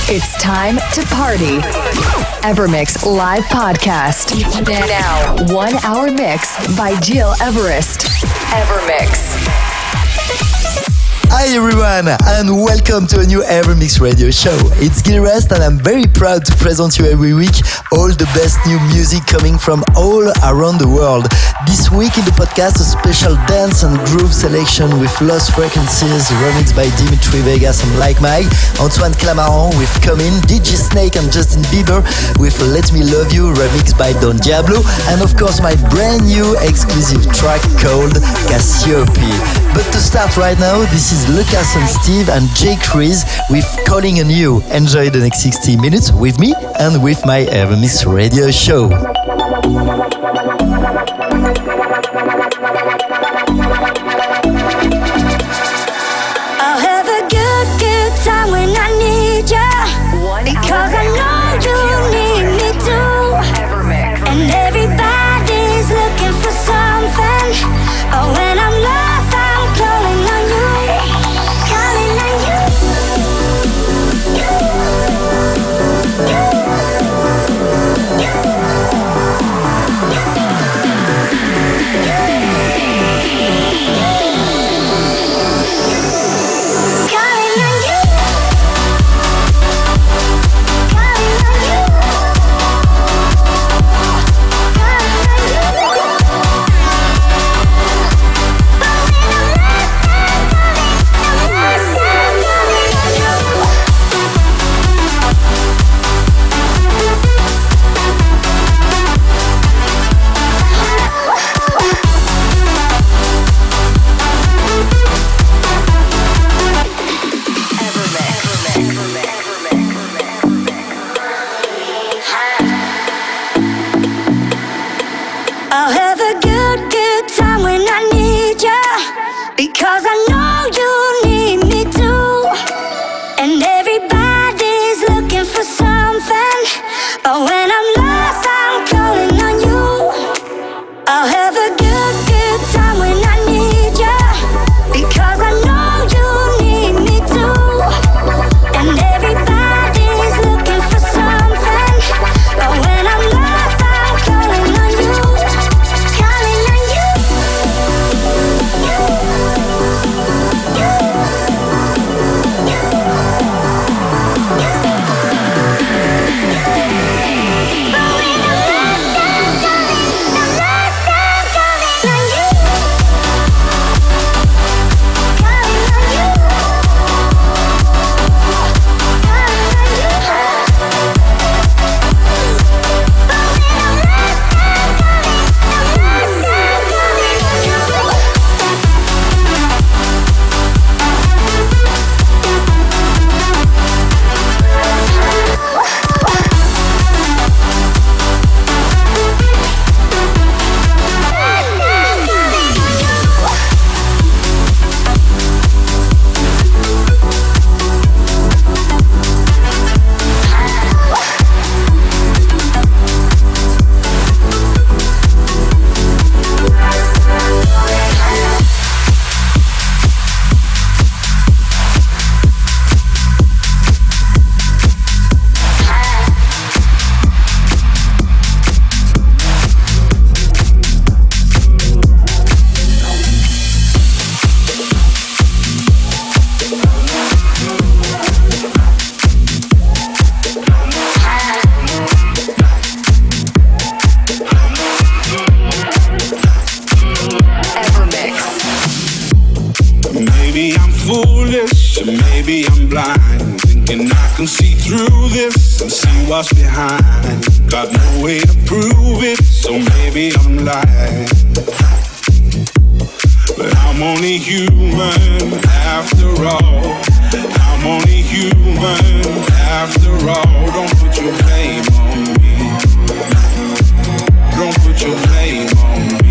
It's time to party. Evermix Live Podcast. Now, 1 hour mix by Gil Everest. Evermix. Hi everyone, and welcome to a new Evermix radio show. It's Gil Everest, and I'm very proud to present you every week all the best new music coming from all around the world. This week in the podcast, a special dance and groove selection with Lost Frequencies, remixed by Dimitri Vegas and Like Mike, Antoine Clamaran with Come In, DJ Snake and Justin Bieber with Let Me Love You, remixed by Don Diablo, and of course my brand new exclusive track called Cassiope. But to start right now, this is Lucas and Steve and Jay Chris with Calling on You. Enjoy the next 60 minutes with me and with my Evermix radio show. I'll have a good time when I need ya, because I know you need me too. And everybody's looking for something. Oh, when I'm lost, I'm calling on you. Calling on you. I'll have a good time when I need ya, because I know you need me too. And everybody's looking for something, but when I'm lost, I'm calling on you. I'll have a good time when I need ya, because I know you need me too. And everybody's looking for something, but when I'm lost, I'm calling on you. Maybe I'm foolish, or maybe I'm blind, thinking I can see through this and see what's behind. Got no way to prove it, so maybe I'm lying. But I'm only human after all. I'm only human after all. Don't put your blame on me. Don't put your blame on me.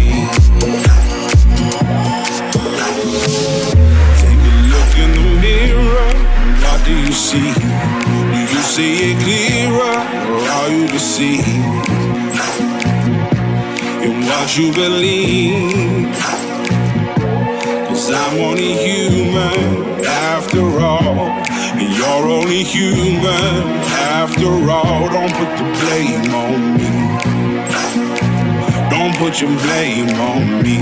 In the mirror, what do you see? Do you see it clearer, or are you deceived in what you believe? 'Cause I'm only human after all, and You're only human after all. Don't put the blame on me. Don't put your blame on me.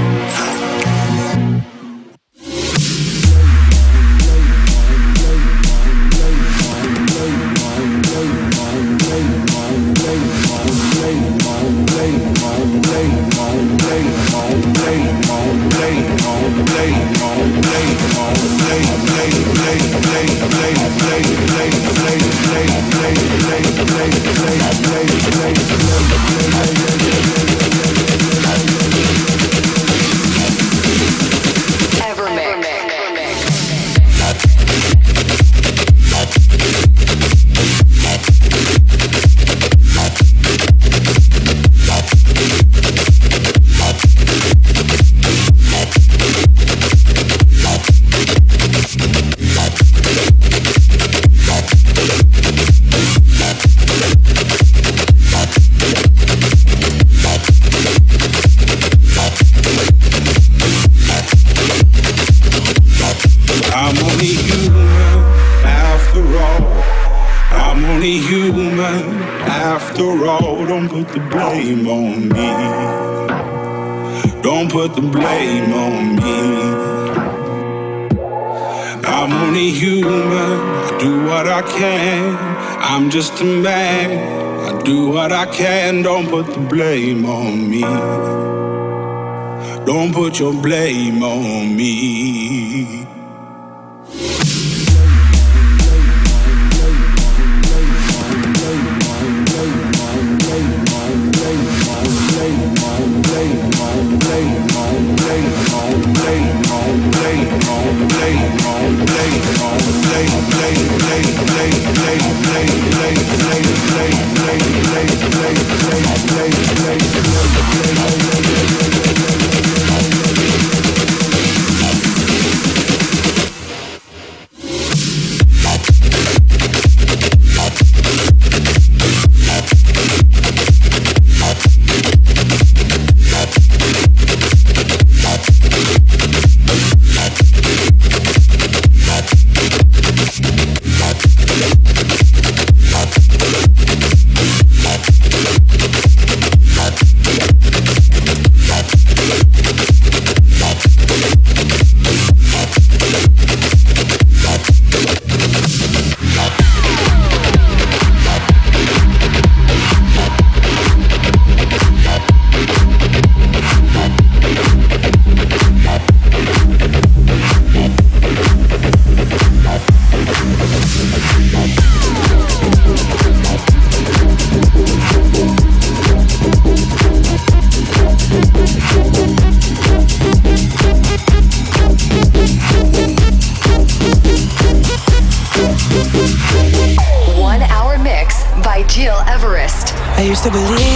Don't put the blame on me. Don't put the blame on me. I'm only human. I do what I can. I'm just a man. I do what I can. Don't put the blame on me. Don't put your blame on me. I used to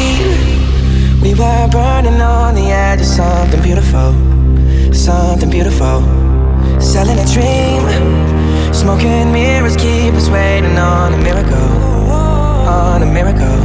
believe we were burning on the edge of something beautiful, something beautiful. Selling a dream, smoking mirrors keep us waiting on a miracle, on a miracle.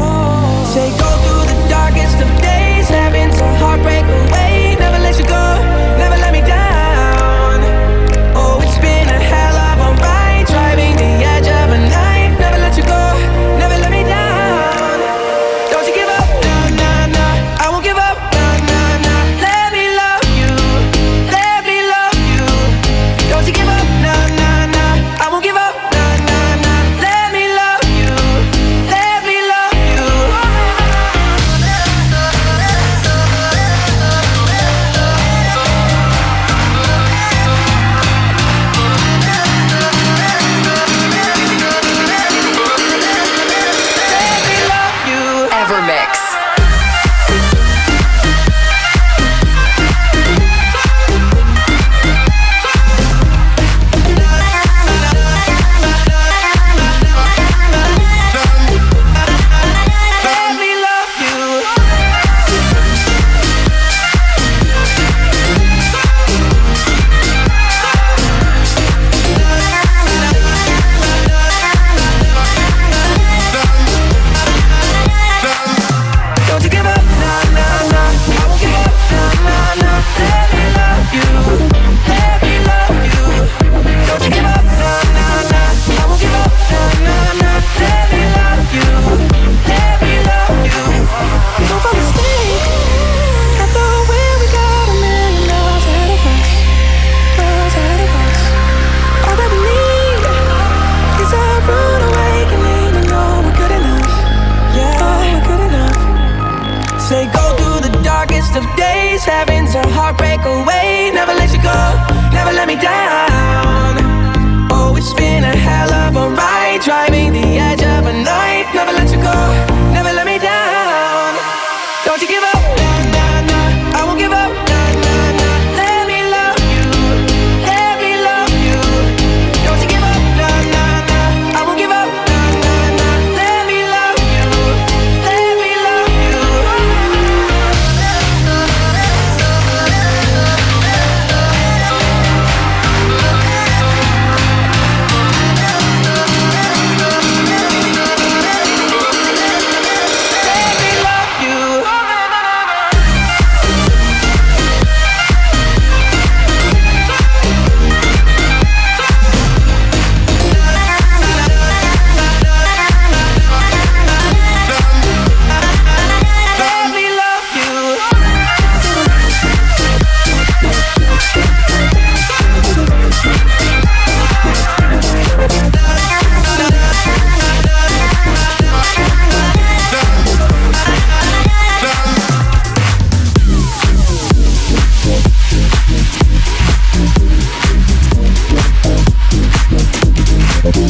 Say go through the darkest of days, having to heartbreak away. Never let you go, never let me down. Oh, it's been a hell of a ride, driving the edge of a knife. Never let you go, never let me down. Don't you give up, nah, nah, nah. I won't give up, nah, nah, nah. Let me love you, let me love you. Don't you give up, nah, nah, nah. I won't give up, nah, nah, nah. Let me love you, let me love you.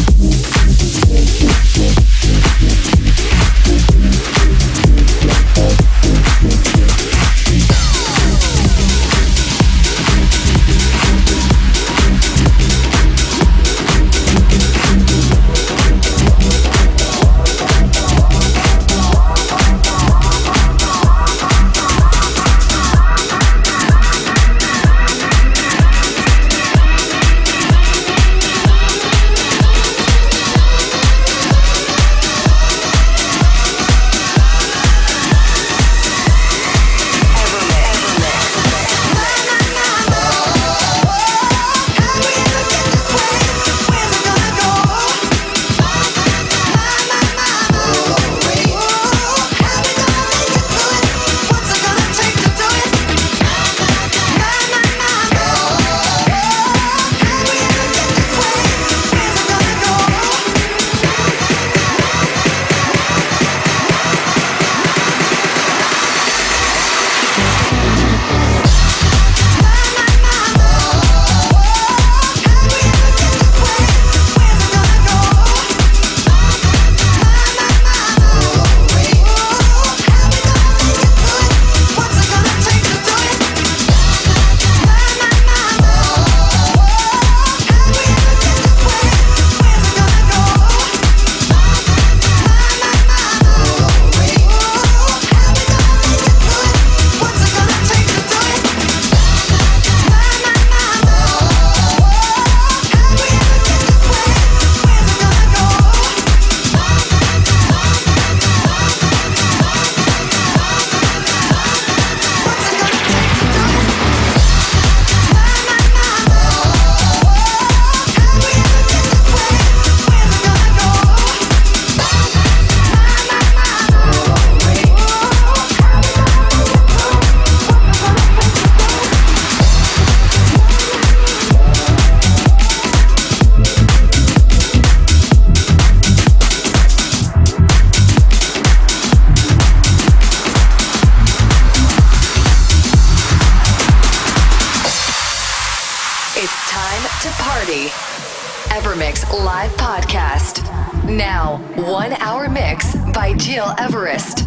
Evermix live podcast. Now, 1 hour mix by Gil Everest.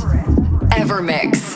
Evermix.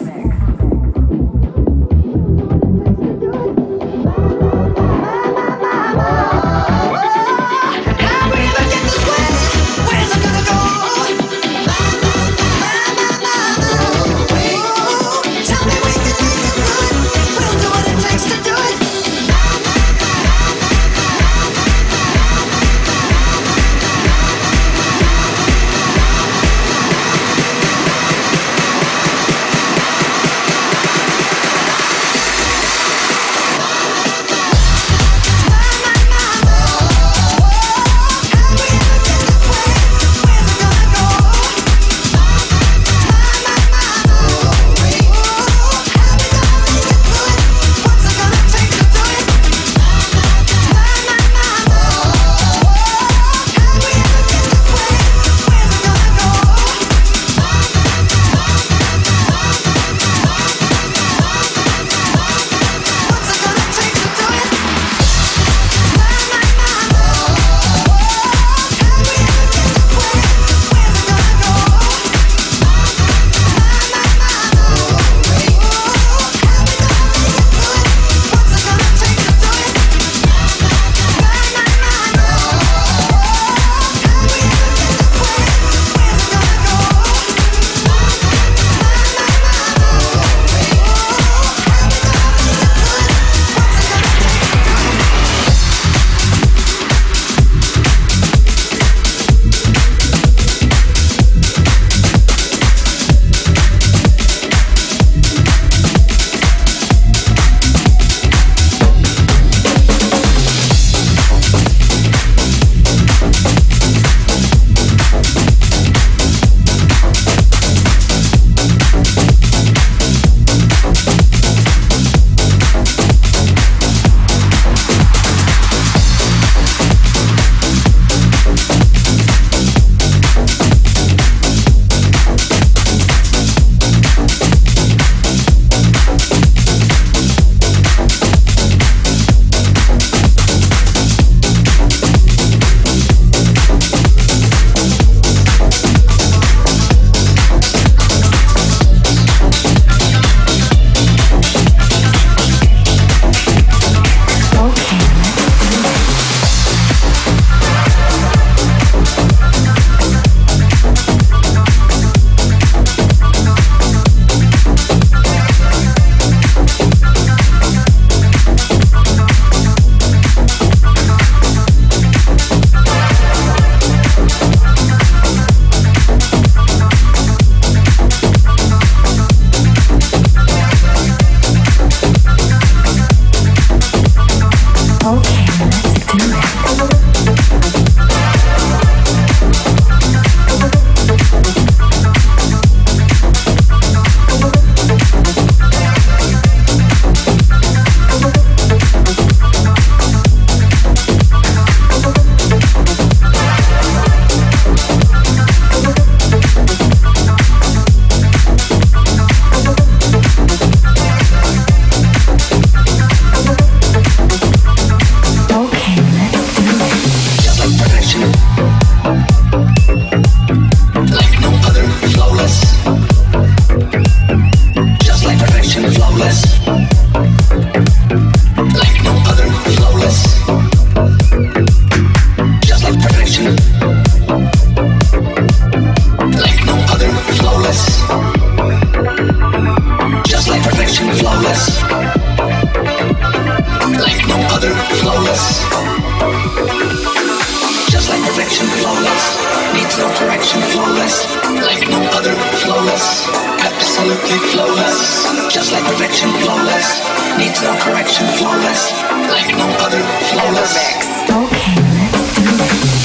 perfectly flawless, just like perfection, flawless. Needs no correction, flawless, like no other, flawless. Okay, let's do this.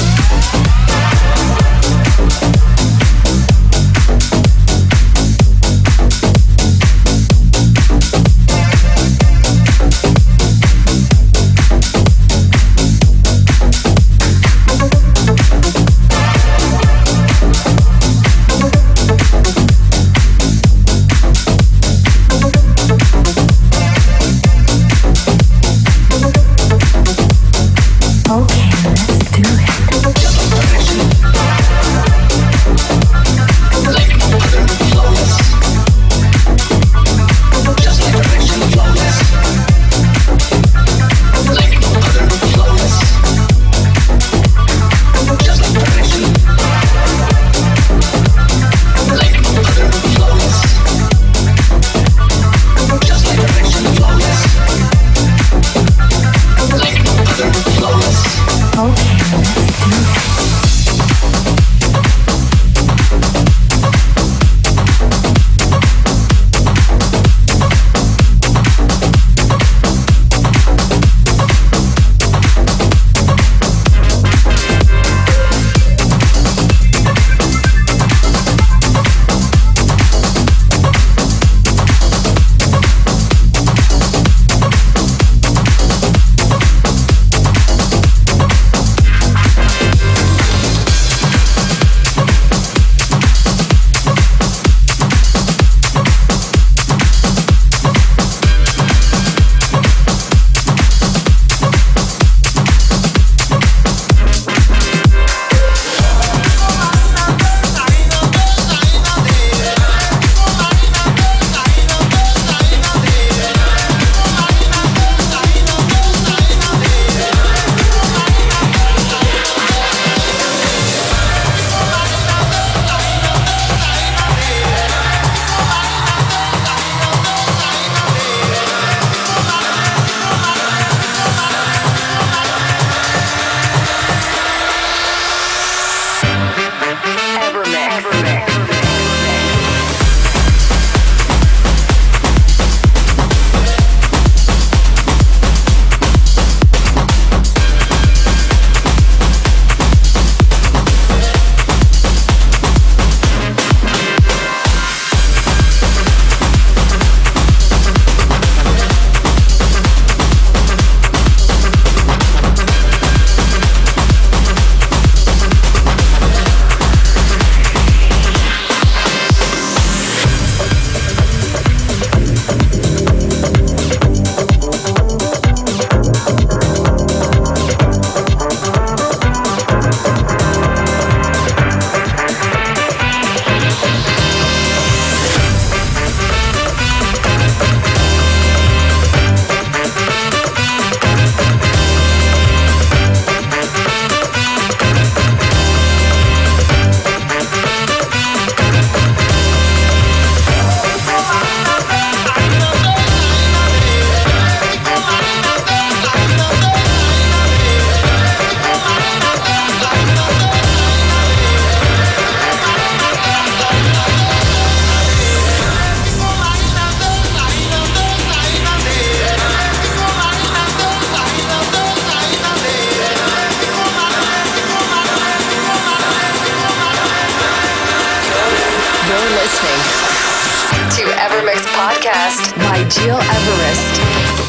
Evermix Podcast by Gil Everest.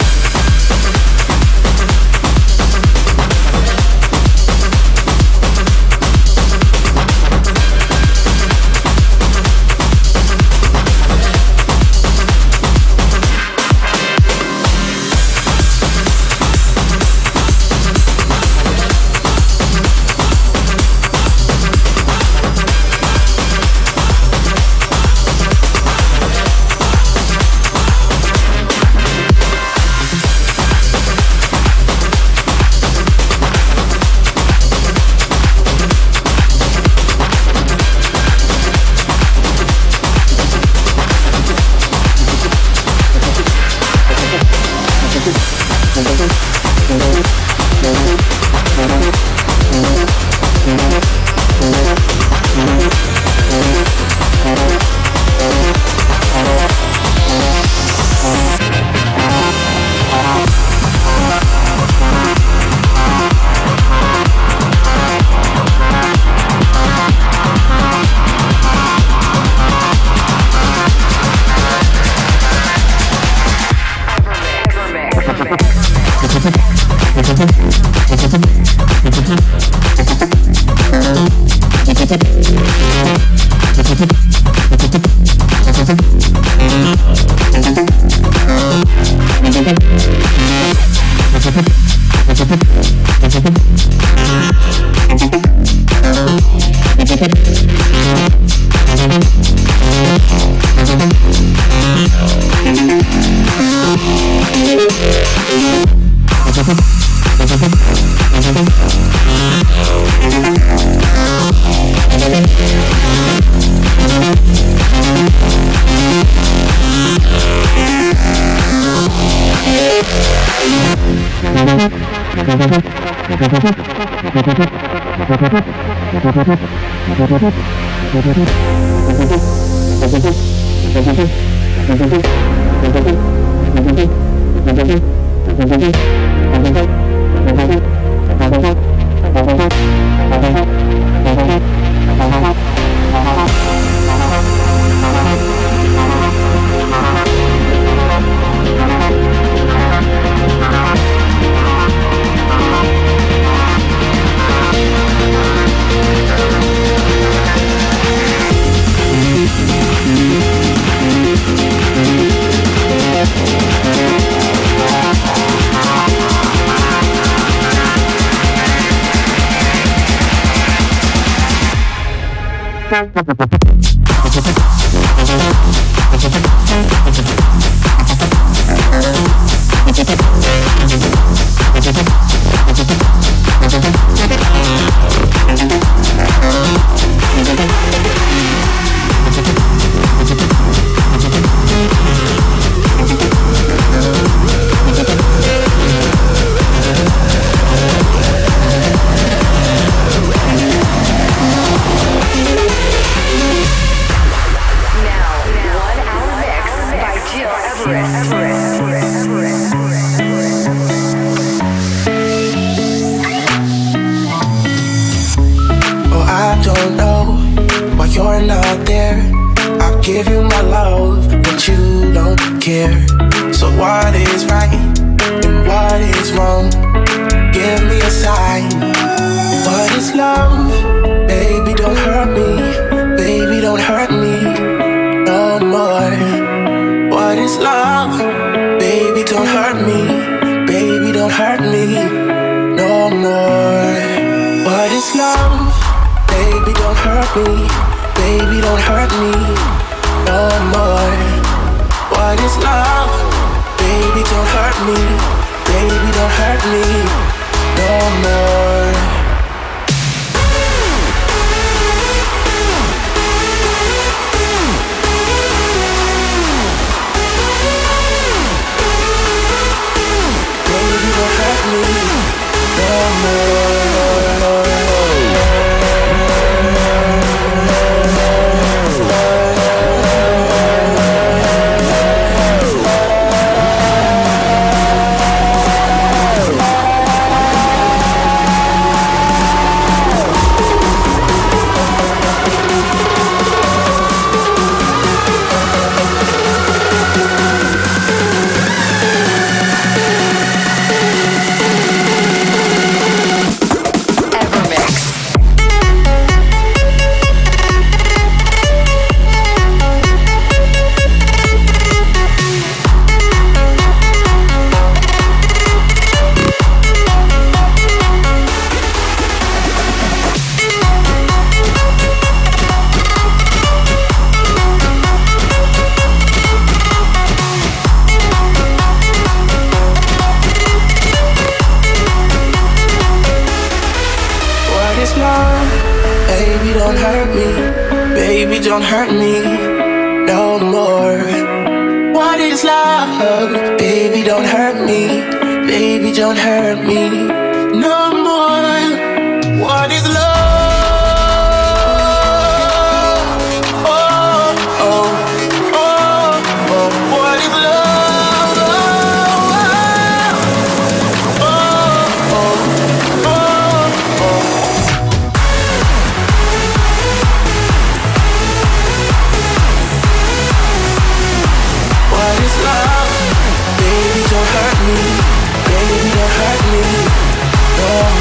Baby, don't hurt me. Baby, don't hurt me. No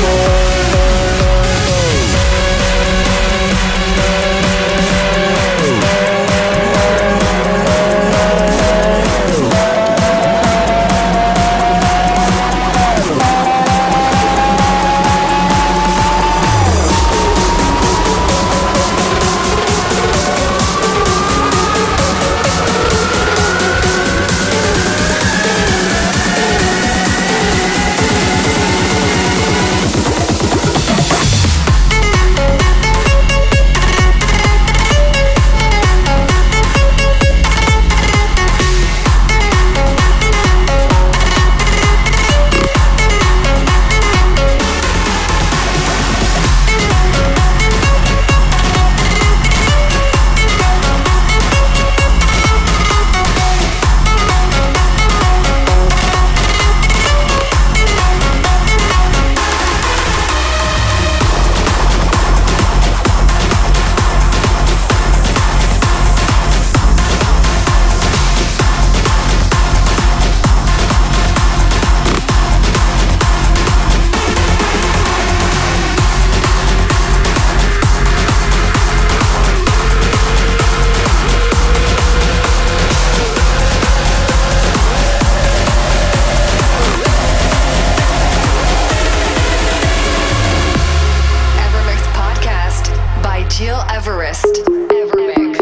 Everest. Evermix.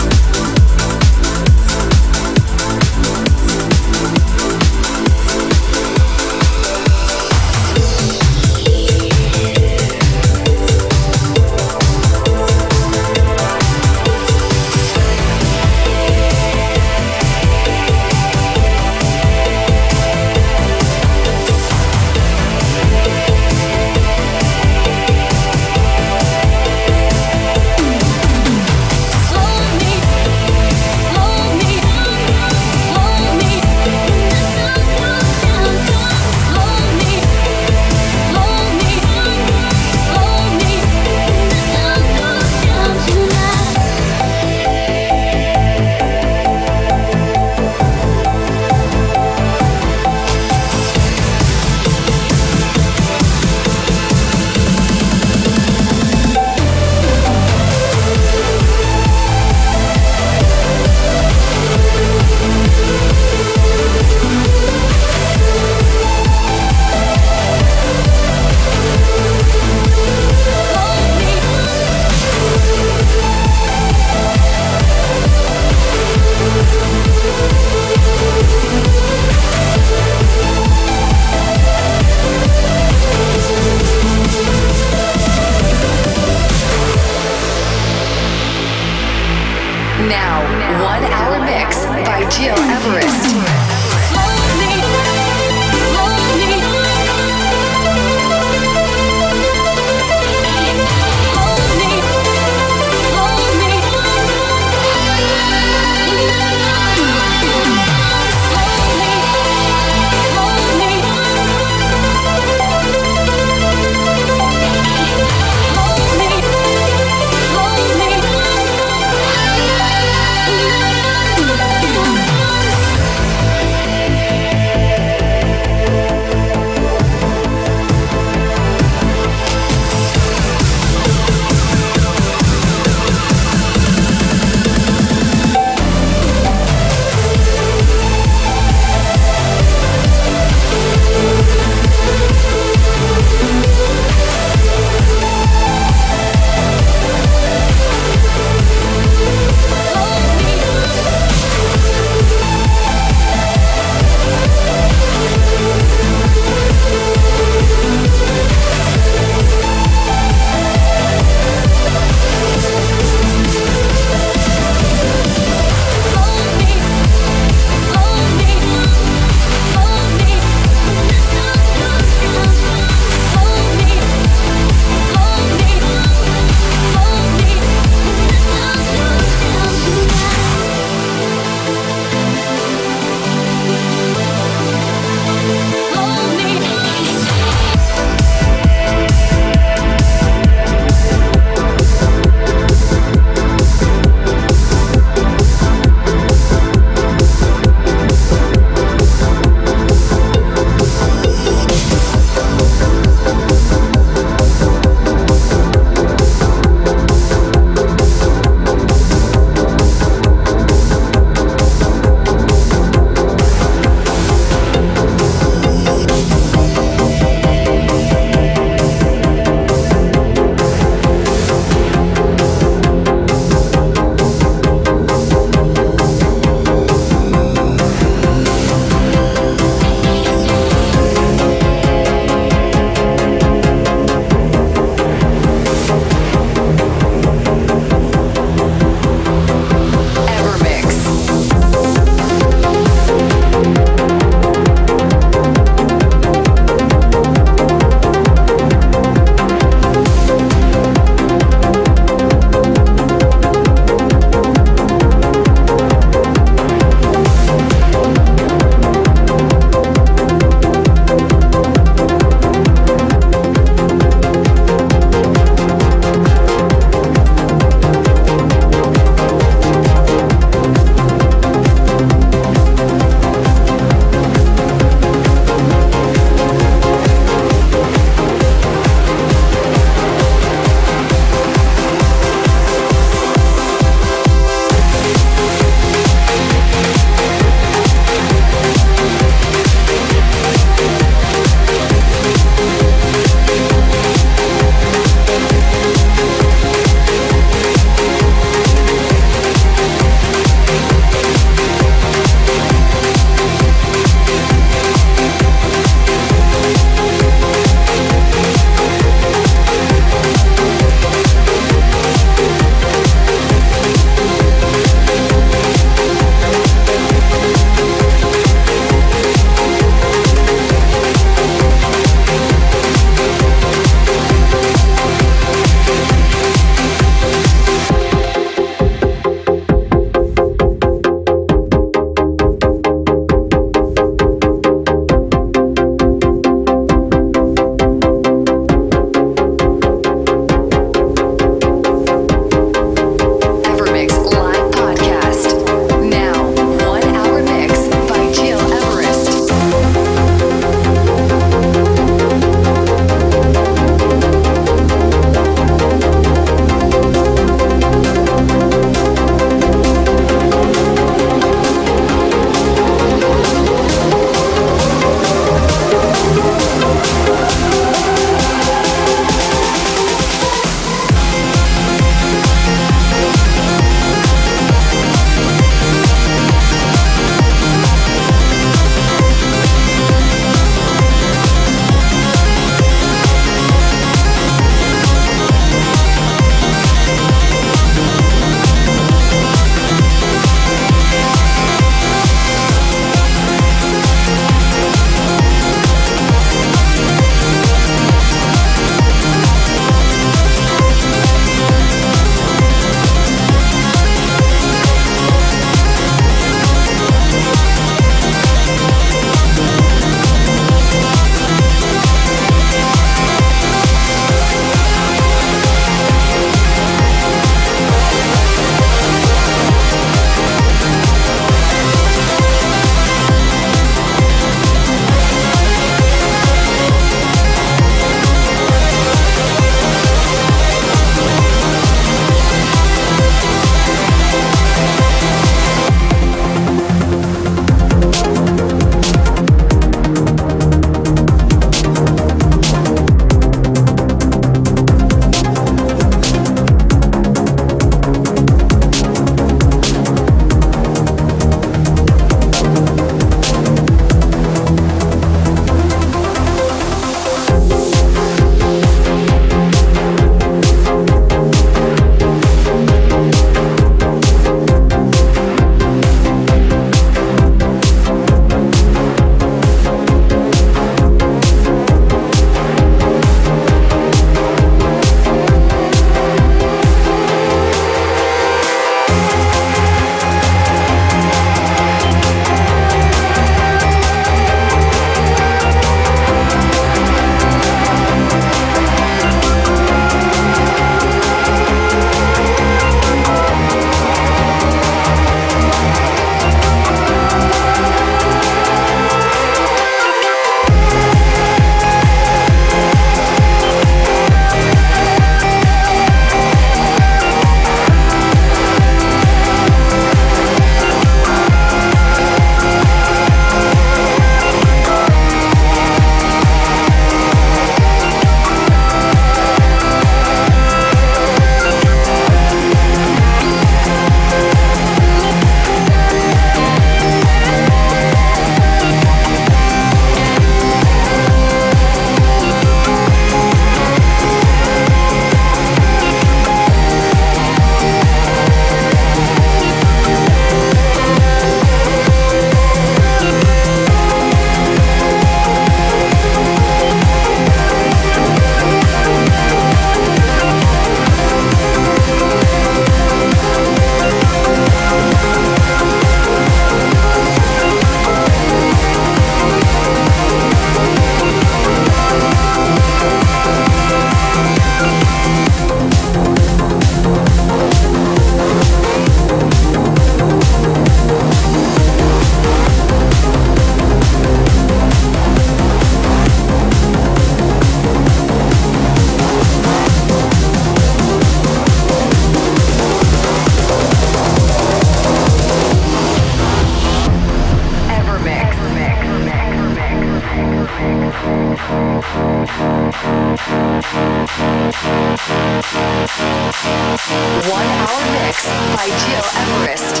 1 hour mix by Gil Everest.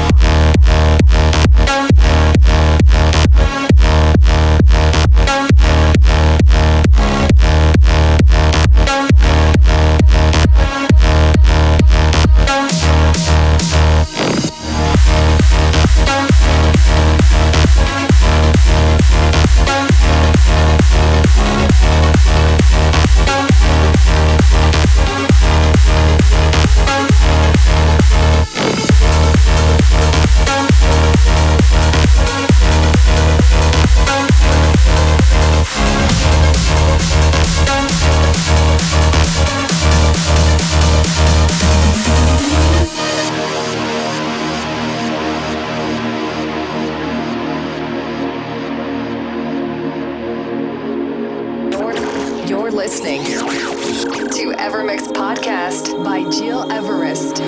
Listening to Evermix Podcast by Gil Everest.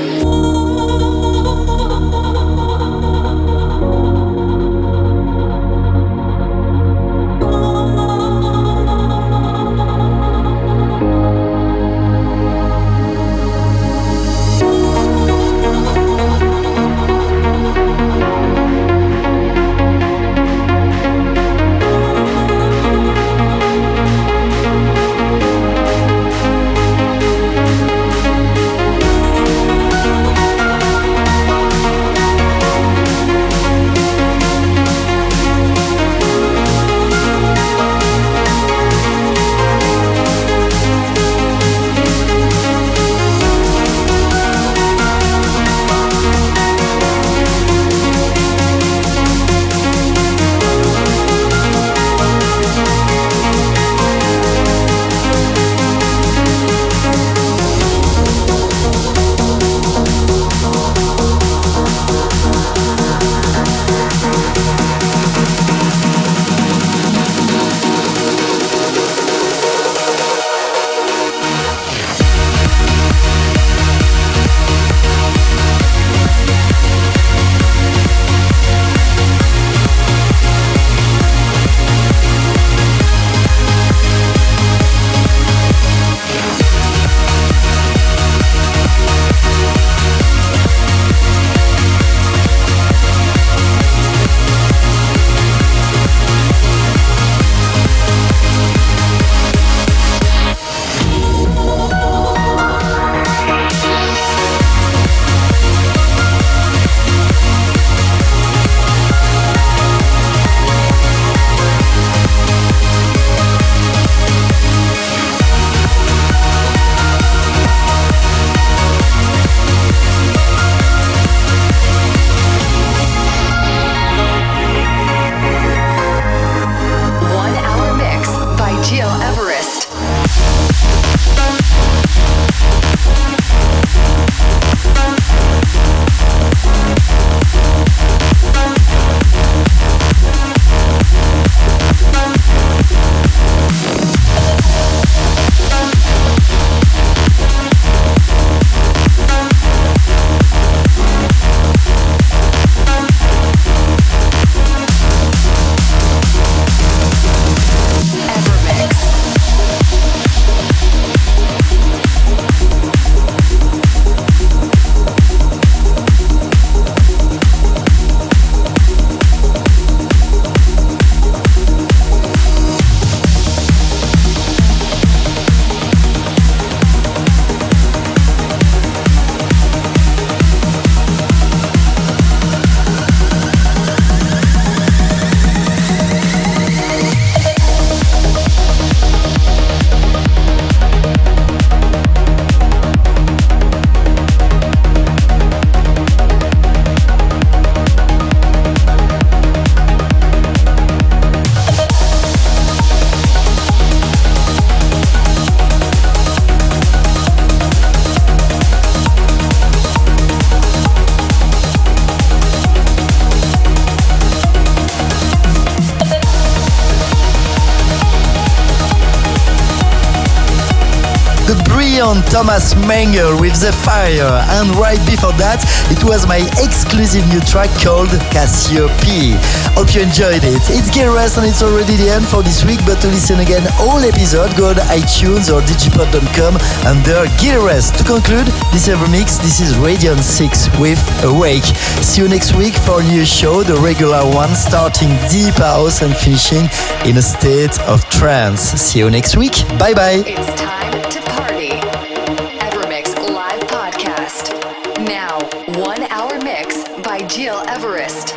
brilliant Thomas Mengel with The Fire. And right before that, it was my exclusive new track called Cassiope. Hope you enjoyed it. It's Get Rest and it's already the end for this week, but to listen again all episodes, go to iTunes or digipod.com under Get Rest. To conclude this Evermix, this is Radiant 6 with Awake. See you next week for a new show, the regular one, starting deep house and finishing in a state of trance. See you next week. Bye bye. It's time to party. Evermix Live Podcast. Now, 1 hour mix by Gil Everest.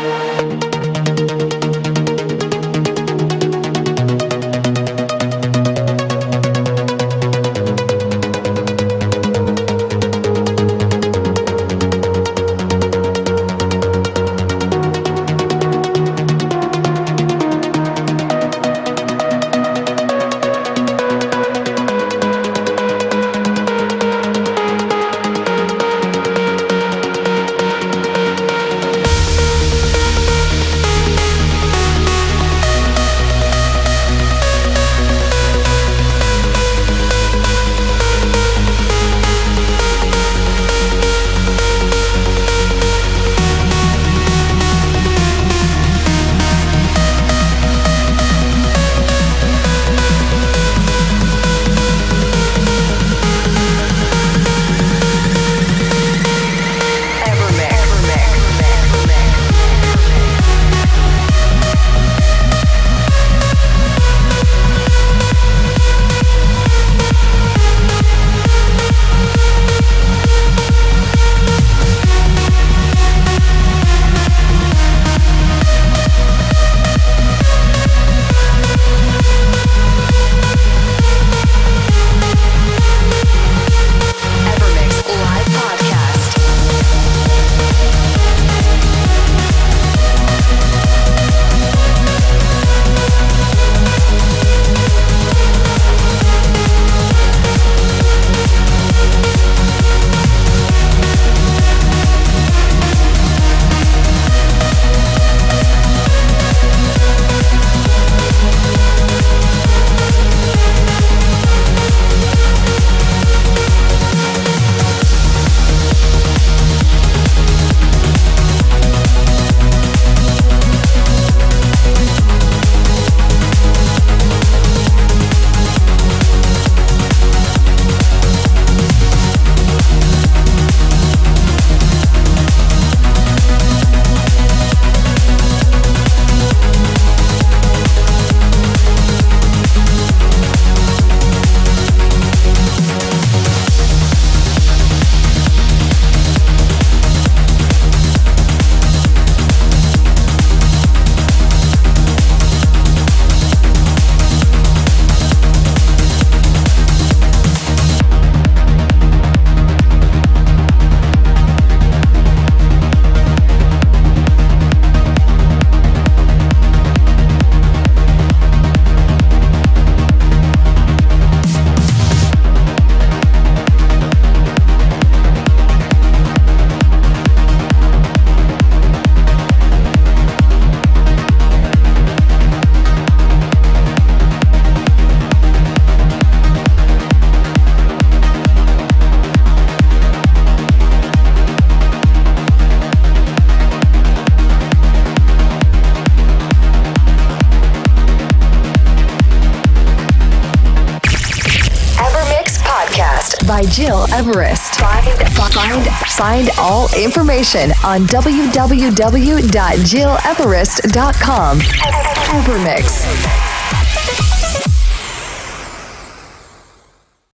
By Gil Everest. Find all information on www.gileverest.com. Evermix.